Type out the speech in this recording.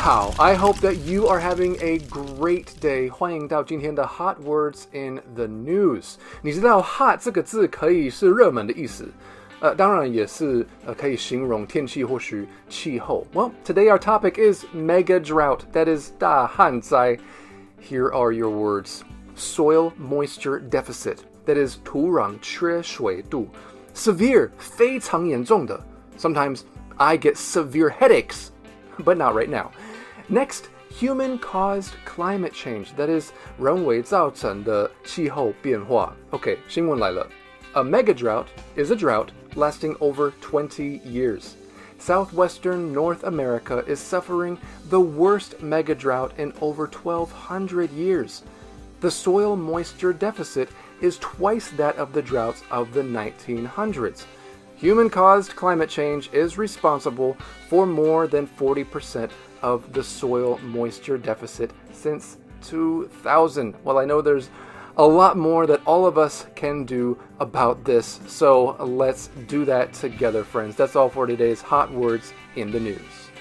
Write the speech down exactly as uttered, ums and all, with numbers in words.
好 I hope that you are having a great day. 欢迎到今天的 Hot Words in the News. 你知道 hot 这个字可以是热门的意思，呃，当然也是呃可以形容天气或是气候。Well, today our topic is mega drought. That is 大旱灾。Here are your words. Soil moisture deficit. That is 土壤缺水度。Severe 非常严重的。Sometimes I get severe headaches, but not right now. Next, human-caused climate change. That is 人为造成的气候变化。OK, 新闻来了。A mega drought is a drought lasting over twenty years. Southwestern North America is suffering the worst mega drought in over twelve hundred years. The soil moisture deficit is twice that of the droughts of the nineteen hundreds. Human-caused climate change is responsible for more than forty percent of the soil moisture deficit since two thousand. Well, I know there's a lot more that all of us can do about this, so let's do that together, friends. That's all for today's Hot Words in the News.